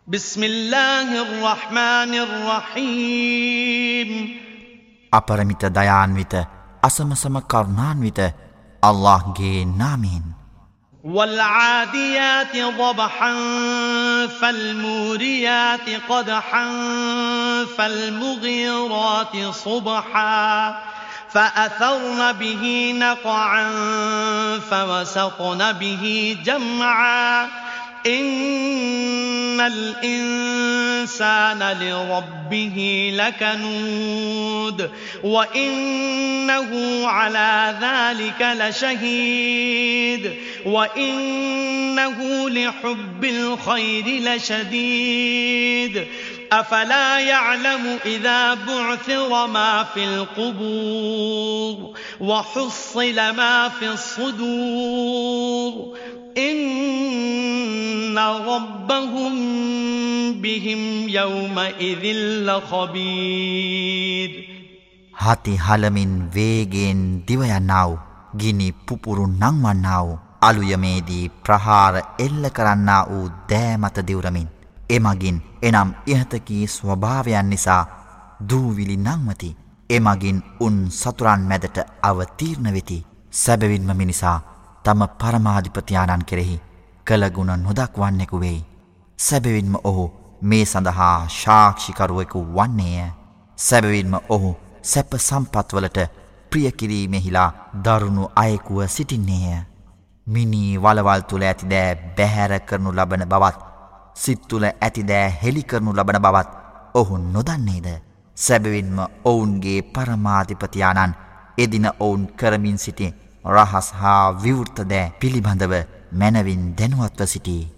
بسم الله الرحمن الرحيم අපරමිත දයාන්විත අසමසම කරුණාන්විත අල්ලාහ්ගේ නාමයෙන් والعاديات ضبحا فالموريات قدحا فالمغيرات صبحا فأثرن به نقعا فوسطن به جمعا إن الإنسان لربه لكنود وإنه على ذلك لشهيد وإنه لحب الخير لشديد أفلا يعلم إذا بعثر ما في القبور وحصل ما في الصدور إن ربهم بهم يومئذ لخبير හති හලමින් වේගෙන් දිව යන්නා වූ ගිනි පුපුරු නංවන්නා වූ අලුයමේදී ප්‍රහාර එල්ල කරන්නා වූ දෑ මත දිවුරමින් එමගින් එනම් ඉහතකී ස්වභාවයන් නිසා දූවිලි නංවති එමගින් උන් සතුරන් මැදට අවතීර්ණ වෙති සැබවින්ම මිනිසා තම පරමාධිපතියාණන් කෙරෙහි කළගුණ නොදක්වන්නෙකු වෙයි සැබවින්ම ඔහු මේ සඳහා සාක්ෂිකරුවෙකු වන්නේය සැබවින්ම ඔහු සැප සම්පත්වලට ප්‍රියකිරීමෙහිලා දරුණු අයෙකුව සිටින්නේය මිනී වලවල් තුළ ඇති දෑ බැහැර කරනු ලබන බවත් සිත් තුළ ඇති දෑ හෙළි කරනු ලබන බවත් ඔහු නොදන්නේද සැබවින්ම ඔවුන්ගේ පරමාධිපතියාණන් එදින ඔවුන් කරමින් සිටි රහස් හා විවෘත දෑ පිළිබඳව මැනවින් දැනුවත්ව සිටී